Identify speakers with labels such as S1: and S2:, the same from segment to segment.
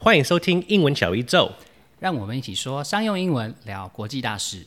S1: 歡迎收聽英文小宇宙，
S2: 讓我們一起說商用英文，聊國際大事。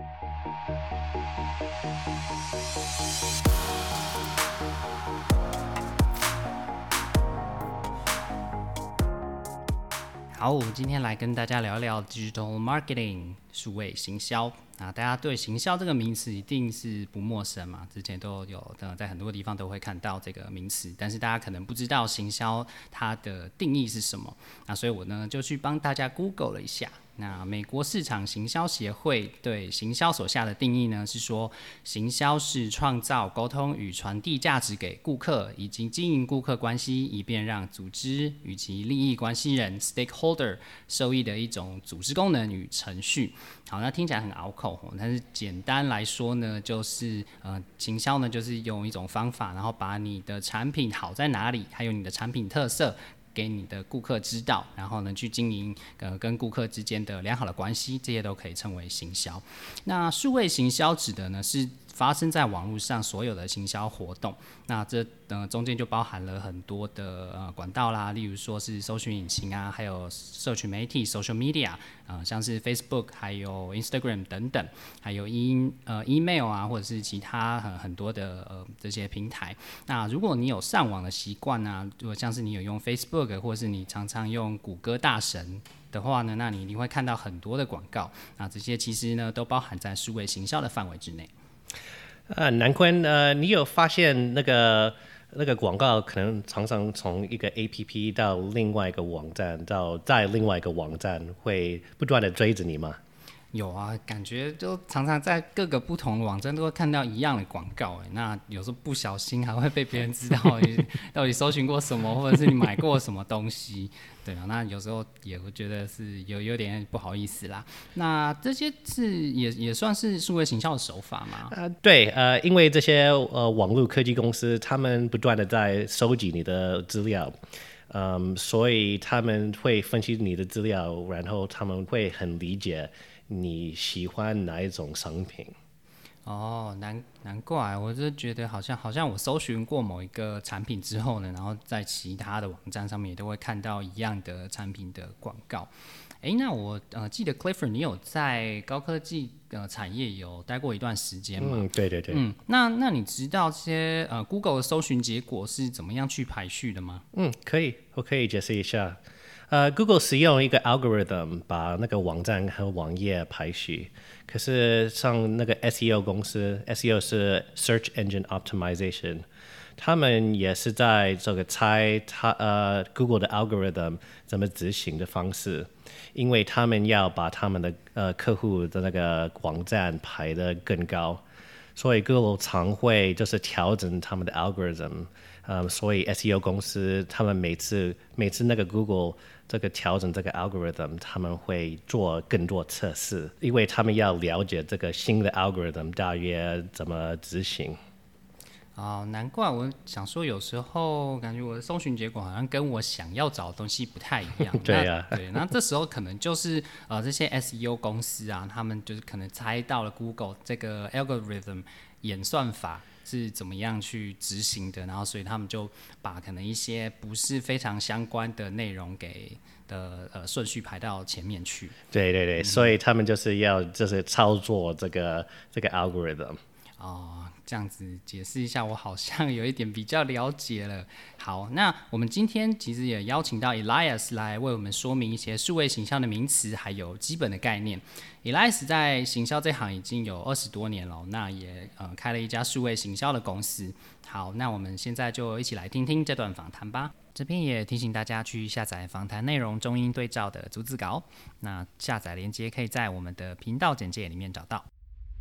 S2: 好，我们今天來跟大家聊聊 Digital Marketing 數位行銷。大家對行銷這個名詞一定是不陌生嘛，之前都有在很多地方都會看到這個名詞，但是大家可能不知道行銷它的定義是什麼。所以我呢就去幫大家 Google 了一下。那美國市場行銷協會對行銷所下的定義呢，是說行銷是創造、溝通與傳遞價值給顧客，以及經營顧客關係，以便讓組織與其利益關係人 （stakeholder） 受益的一種組織功能與程序。好，那聽起來很拗口，但是簡單來說呢，就是行銷呢就是用一種方法，然後把你的產品好在哪裡，還有你的產品特色，給你的顧客知道，然後呢去經營跟顧客之間的良好的關係，這些都可以稱為行銷。那數位行銷指的呢是發生在網絡上所有的行銷活動，那這中間就包含了很多的管道啦，例如說是搜尋引擎啊，還有社群媒體 social media，像是 Facebook 還有 Instagram 等等，還有email 啊，或者是其他很多的這些平台。那如果你有上網的習慣啊，如果像是你有用 Facebook 或者是你常常用谷歌大神的話呢，那你一定會看到很多的廣告，那這些其實呢都包含在數位行銷的範圍之內。
S1: 南坤，你有發現那個廣告可能常常從一個 APP 到另外一個網站，到再另外一個網站，會不斷的追着你嗎？
S2: 有啊，感覺就常常在各個不同的網站都會看到一樣的廣告，那有時候不小心還會被別人知道你到底搜尋過什麼，或者是你買過什麼東西。對啊，那有時候也會覺得是有點不好意思啦。那這些是也算是數位行銷的手法嗎？
S1: 對，因為這些網絡科技公司，他們不斷的在收集你的資料，所以他們會分析你的資料，然後他們會很理解你喜歡哪一種商品。
S2: 哦，難怪，我就覺得好像我搜尋過某一個產品之後呢，然後在其他的網站上面也都會看到一樣的產品的廣告。那我記得 Clifford 你有在高科技產業有待過一段時間嗎？
S1: 對對對。
S2: 那你知道這些Google 的搜尋結果是怎麼樣去排序的嗎？
S1: 可以，我可以解釋一下。Google 使用一個 algorithm 把那個網站和網頁排序，可是像那個 SEO 公司 ，SEO 是 Search Engine Optimization， 他們也是在這個猜Google 的 algorithm 怎麼執行的方式，因為他們要把他們的客戶的那個網站排得更高，所以 Google 常會就是調整他們的 algorithm。所以 SEO 公司他們每次那個 Google 這個調整這個 algorithm， 他們會做更多測試，因為他們要了解這個新的 algorithm 大約怎麼執行。
S2: 難怪我想說，有時候感覺我的搜尋結果好像跟我想要找的東西不太一樣。
S1: 對啊，
S2: 那這時候可能就是這些 SEO 公司啊，他們就是可能猜到了 Google 這個 algorithm 演算法是怎麼樣去執行的，然後所以他們就把可能一些不是非常相關的內容給順序排到前面去。對對对，所以他們就是要操作這個 algorithm。這樣子解釋一下，我好像有一點比較了解了。好，那我們今天其實也邀請到 Elias 來為我們說明一些數位行銷的名詞還有基本的概念。Elias 在行銷這行已經有20多年了，那也開了一家數位行銷的公司。好，那我們現在就一起來聽聽這段訪談吧。這邊也提醒大家去下載訪談內容中英對照的逐字稿，那下載連結可以在我們的頻道簡介裡面找到。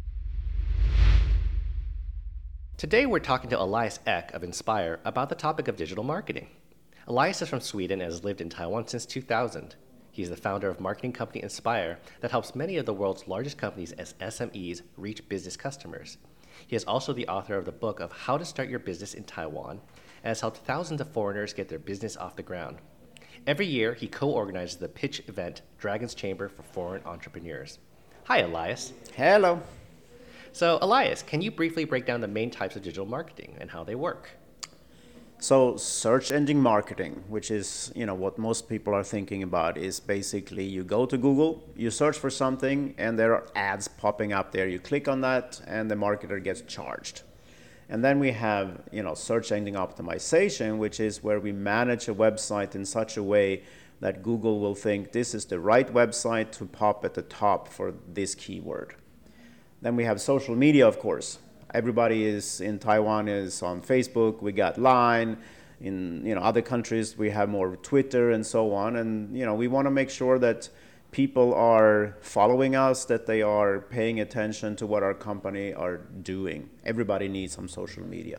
S3: Today we're talking to Elias Ek of Inspire about the topic of digital marketing. Elias is from Sweden and has lived in Taiwan since 2000. He's the founder of marketing company Inspire that helps many of the world's largest companies as SMEs reach business customers. He is also the author of the book of How to Start Your Business in Taiwan and has helped thousands of foreigners get their business off the ground. Every year, he co-organizes the pitch event Dragon's Chamber for Foreign Entrepreneurs. Hi, Elias.
S4: Hello.
S3: So, Elias, can you briefly break down the main types of digital marketing and how they work?
S4: So search engine marketing, which is what most people are thinking about, is basically you go to Google, you search for something, and there are ads popping up there. You click on that, and the marketer gets charged. And then we have search engine optimization, which is where we manage a website in such a way that Google will think this is the right website to pop at the top for this keyword. Then we have social media, of course. Everybody is in Taiwan is on Facebook. We got Line. In other countries, we have more Twitter and so on. And we want to make sure that people are following us, that they are paying attention to what our company are doing. Everybody needs some social media.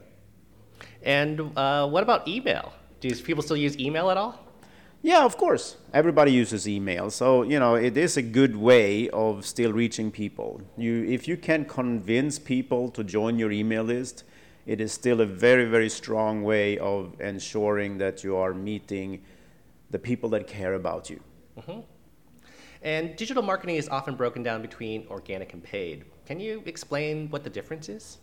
S3: And what about email? Do people still use email at all?
S4: Yeah, of course. Everybody uses email. So, it is a good way of still reaching people. If you can convince people to join your email list, it is still a very, very strong way of ensuring that you are meeting the people that care about you.
S3: Mm-hmm. And digital marketing is often broken down between organic and paid. Can you explain what the difference is?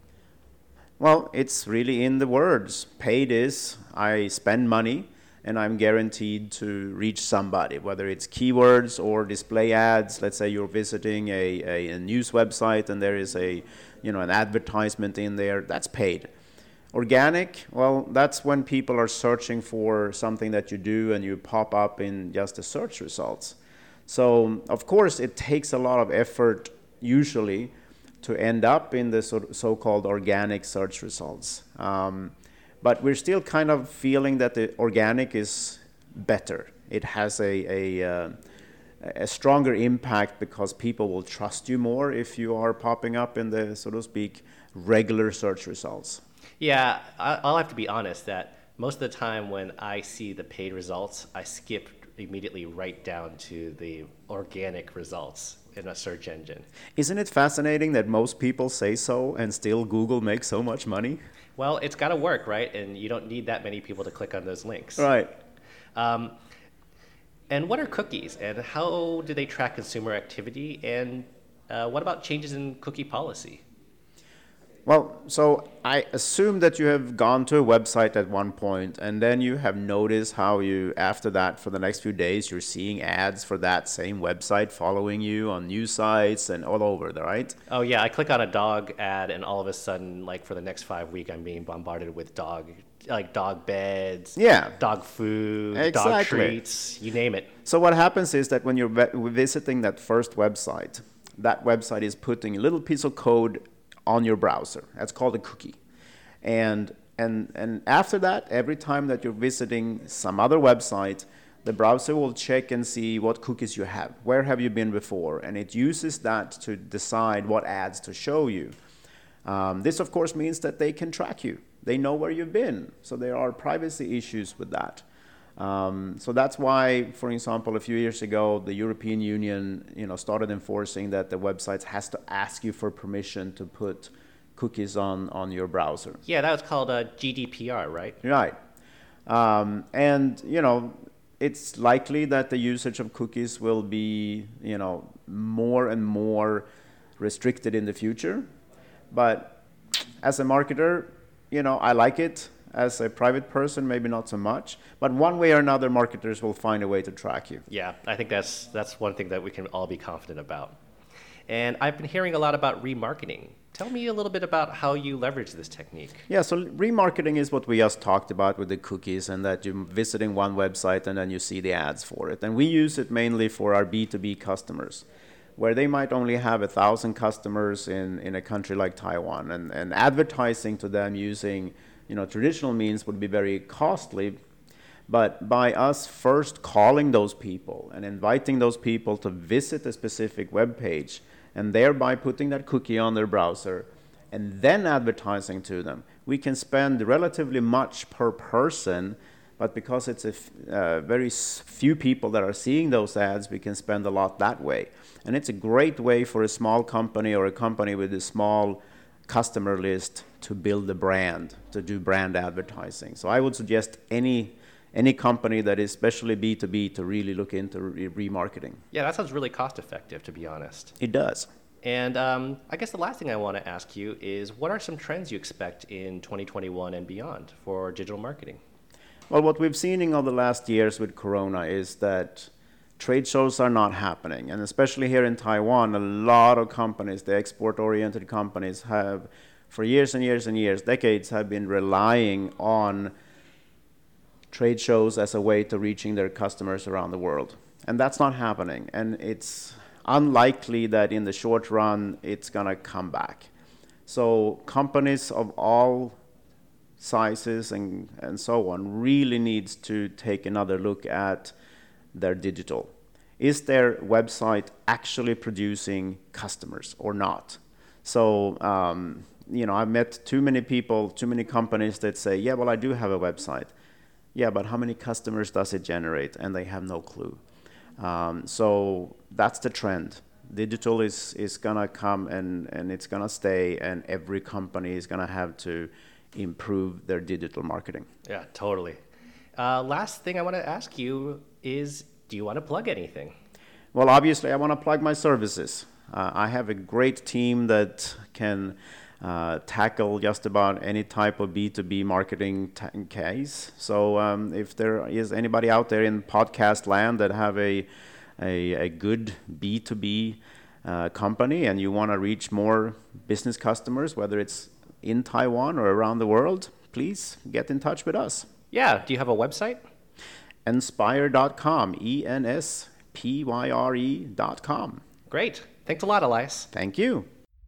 S4: Well, it's really in the words. Paid is I spend money, and I'm guaranteed to reach somebody, whether it's keywords or display ads. Let's say you're visiting a news website and there is an advertisement in there. That's paid. Organic, well, that's when people are searching for something that you do and you pop up in just the search results. So, of course, it takes a lot of effort usually to end up in the so-called organic search results. But we're still kind of feeling that the organic is better. It has a stronger impact because people will trust you more if you are popping up in the, so to speak, regular search results.
S3: Yeah, I'll have to be honest that most of the time when I see the paid results, I skip immediately right down to the organic results in a search engine.
S4: Isn't it fascinating that most people say so and still Google makes so much money?
S3: Well, it's got to work, right? And you don't need that many people to click on those links.
S4: Right.
S3: And what are cookies? And how do they track consumer activity? And what about changes in cookie policy?
S4: Well, so I assume that you have gone to a website at one point, and then you have noticed how you, after that, for the next few days, you're seeing ads for that same website following you on news sites and all over, right?
S3: Oh, yeah. I click on a dog ad, and all of a sudden, like for the next 5 weeks, I'm being bombarded with dog beds, dog food,
S4: exactly.
S3: Dog treats, you name it.
S4: So what happens is that when you're visiting that first website, that website is putting a little piece of code on your browser. That's called a cookie. And after that, every time that you're visiting some other website, the browser will check and see what cookies you have. Where have you been before? And it uses that to decide what ads to show you. This, of course, means that they can track you. They know where you've been. So there are privacy issues with that. So that's why, for example, a few years ago, the European Union, started enforcing that the websites has to ask you for permission to put cookies on your browser.
S3: Yeah, that was called GDPR, right?
S4: Right. And it's likely that the usage of cookies will be, more and more restricted in the future. But as a marketer, I like it. As a private person, maybe not so much. But one way or another, marketers will find a way to track you.
S3: Yeah, I think that's one thing that we can all be confident about. And I've been hearing a lot about remarketing. Tell me a little bit about how you leverage this technique.
S4: Yeah, so remarketing is what we just talked about with the cookies, and that you're visiting one website and then you see the ads for it. And we use it mainly for our B2B customers, where they might only have 1,000 customers in a country like Taiwan. And advertising to them using traditional means would be very costly, but by us first calling those people and inviting those people to visit a specific web page and thereby putting that cookie on their browser and then advertising to them, we can spend relatively much per person, but because it's very few people that are seeing those ads, we can spend a lot that way. And it's a great way for a small company or a company with a small customer list to build a brand, to do brand advertising. So I would suggest any company that is especially B2B to really look into remarketing.
S3: Yeah, that sounds really cost effective, to be honest.
S4: It does.
S3: And I guess the last thing I want to ask you is, what are some trends you expect in 2021 and beyond for digital marketing?
S4: Well, what we've seen in the last years with Corona is that trade shows are not happening. And especially here in Taiwan, a lot of companies, the export-oriented companies, have for years and years and years, decades, have been relying on trade shows as a way to reaching their customers around the world. And that's not happening. And it's unlikely that in the short run it's going to come back. So companies of all sizes and so on really needs to take another look at their digital. Is their website actually producing customers or not? So, I've met too many people, too many companies that say, yeah, well, I do have a website. Yeah, but how many customers does it generate? And they have no clue. So that's the trend. Digital is going to come and it's going to stay, and every company is going to have to improve their digital marketing.
S3: Yeah, totally. Last thing I want to ask you is, do you want to plug anything?
S4: Well, obviously, I want to plug my services. I have a great team that can tackle just about any type of B2B marketing case. So if there is anybody out there in podcast land that have a good B2B company and you want to reach more business customers, whether it's in Taiwan or around the world, please get in touch with us.
S3: Yeah, do you have a website?
S4: Enspire.com, ENSPYRE.com.
S3: Great. Thanks a lot, Elias.
S4: Thank you.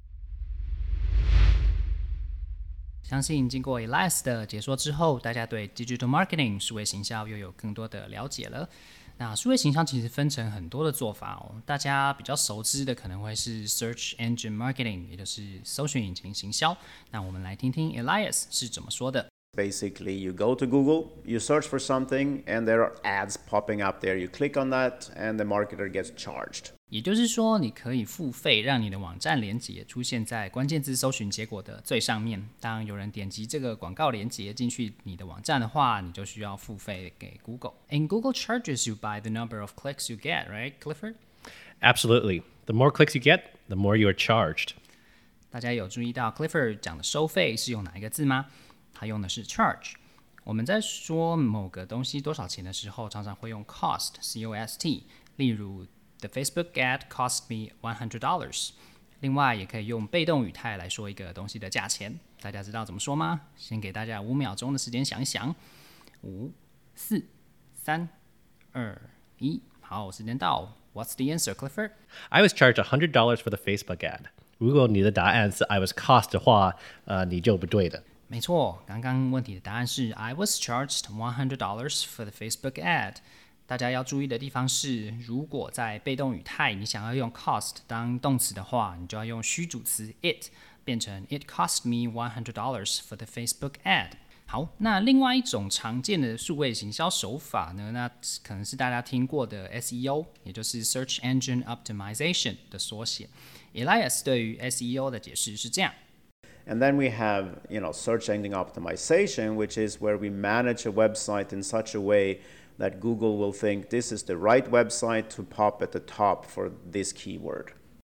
S2: 相信經過 Elias 的解說之後，大家對 Digital Marketing 數位行銷又有更多的了解了。那數位行銷其實分成很多的做法哦，大家比較熟知的可能會是 Search Engine Marketing， 也就是搜尋引擎行銷。那我們來聽聽 Elias 是怎麼說的。
S4: Basically, you go to Google, you search for something, and there are ads popping up there. You click on that, and the marketer gets charged.
S2: 也就是說，你可以付費讓你的網站連結出現在關鍵字搜尋結果的最上面。當有人點擊這個廣告連結進去你的網站的話，你就需要付費給 Google. And Google charges you by the number of clicks you get, right, Clifford?
S1: Absolutely. The more clicks you get, the more you are charged.
S2: 大家有注意到 Clifford 講的收費是用哪一個字嗎？他用的是 charge。我們在說某個東西多少錢的時候，常常會用 cost, C-O-S-T。例如 The Facebook ad cost me $100。另外，也可以用被動語態來說一個東西的價錢。大家知道怎麼說嗎？先給大家5秒鐘的時間想一想。5、4、3、2、1。好，時間到。What's the answer, Clifford?
S1: I was charged $100 for the Facebook ad. 如果你的答案是 I was cost 的話，你就不對的。
S2: 沒錯，剛剛問題的答案是 I was charged $100 for the Facebook ad。大家要注意的地方是，如果在被動語態你想要用 cost 當動詞的話，你就要用虛主詞 it， 變成 It cost me $100 for the Facebook ad。好，那另外一種常見的數位行銷手法呢，那可能是大家聽過的 SEO， 也就是 Search Engine Optimization 的縮寫。Elias 對於 SEO 的解釋是這樣。
S4: And then we have, search engine optimization, which is where we manage a website in such a way that Google will think this is the right website to pop at the top for this keyword.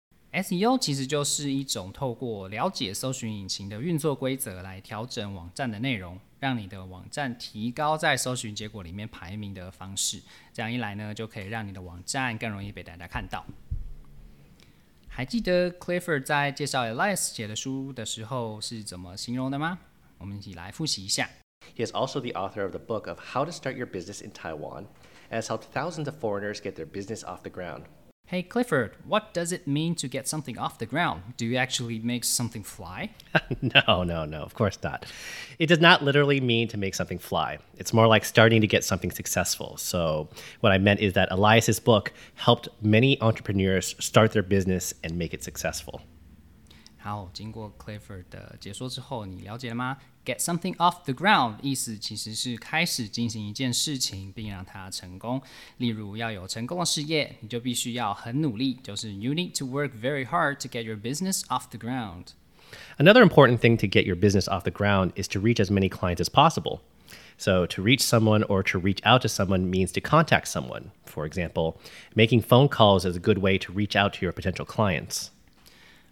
S2: SEO 其實就是一種透過了解搜尋引擎的運作規則來調整網站的內容，讓你的網站提高在搜尋結果裡面排名的方式。這樣一來呢，就可以讓你的網站更容易被大家看到。還記得 Clifford 在介紹 Elias 寫的書的時候是怎麼形容的嗎？我們一起來複習一下。
S3: He is also the author of the book of How to Start Your Business in Taiwan and has helped thousands of foreigners get their business off the ground.
S2: Hey Clifford, what does it mean to get something off the ground? Do you actually make something fly?
S1: No, of course not. It does not literally mean to make something fly. It's more like starting to get something successful. So what I meant is that Elias's book helped many entrepreneurs start their business and make it successful.
S2: 好，經過 Clifford 的解說之後，你了解了嗎？ Get something off the ground 意思其實是開始進行一件事情，並讓它成功。例如要有成功的事業，你就必須要很努力，就是 You need to work very hard to get your business off the ground.
S1: Another important thing to get your business off the ground is to reach as many clients as possible. So to reach someone or to reach out to someone means to contact someone. For example, making phone calls is a good way to reach out to your potential clients.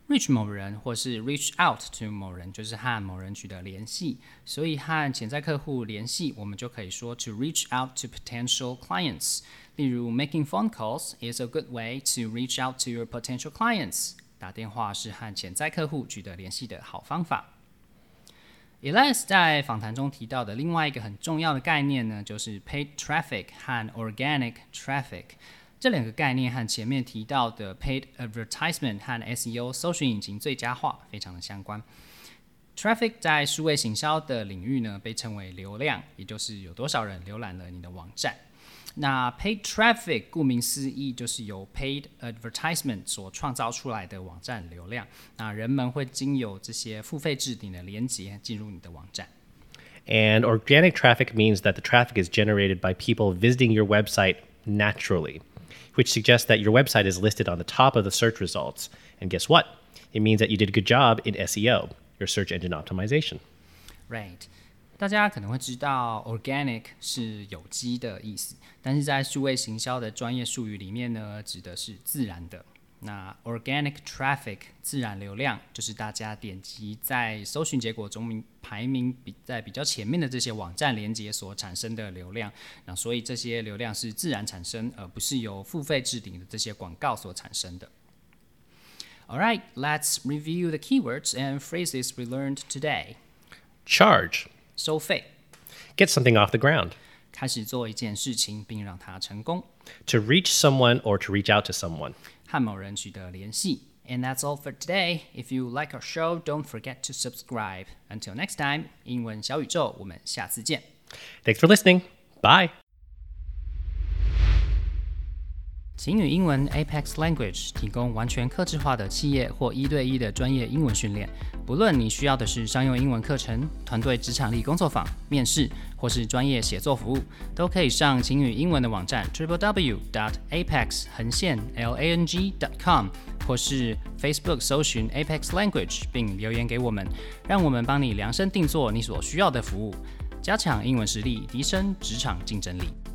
S2: reach 某人或是 reach out to 某人，就是和某人取得聯繫。所以和潛在客戶聯繫，我們就可以說 to reach out to potential clients。例如 making phone calls is a good way to reach out to your potential clients。打電話是和潛在客戶取得聯繫的好方法。Elias 在訪談中提到的另外一個很重要的概念呢，就是 paid traffic 和 organic traffic。這兩個概念和前面提到的 paid advertisement 和 SEO 搜尋引擎最佳化非常的相關。Traffic 在數位行銷的領域呢，被稱為流量，也就是有多少人瀏覽了你的網站。那 paid traffic 顧名思義，就是由 paid advertisement 所創造出來的網站流量。那人們會經由這些付費置頂的連結進入你的網站。
S1: And organic traffic means that the traffic is generated by people visiting your website naturally.Which suggests that your website is listed on the top of the search results. And guess what? It means that you did a good job in SEO, your search engine optimization.
S2: Right. 大家可能会知道 organic 是有機的意思，但是在数位行銷的專業術語裡面呢，指的是自然的。那 organic traffic 自然流量，就是大家點擊在搜尋結果中排名在比較前面的這些網站連結所產生的流量。那所以這些流量是自然產生，而不是由付費置頂的這些廣告所產生的。Alright, let's review the keywords and phrases we learned today.
S1: Charge.
S2: 收費。
S1: Get something off the ground.
S2: 開始做一件事情並讓它成功。
S1: To reach someone or to reach out to someone.
S2: 和某人取得聯繫。And that's all for today. If you like our show, don't forget to subscribe. Until next time, 英文小宇宙，我們下次見。
S1: Thanks for listening. Bye.
S2: 晴雨英文 Apex Language 提供完全客製化的企業或1對1的專業英文訓練。不論你需要的是商用英文課程、團隊職場力工作坊、面試，或是專業寫作服務，都可以上晴雨英文的網站 www.apex-lang.com 或是 Facebook 搜尋 Apex Language 並留言給我們，讓我們幫你量身定做你所需要的服務，加強英文實力，提升職場競爭力。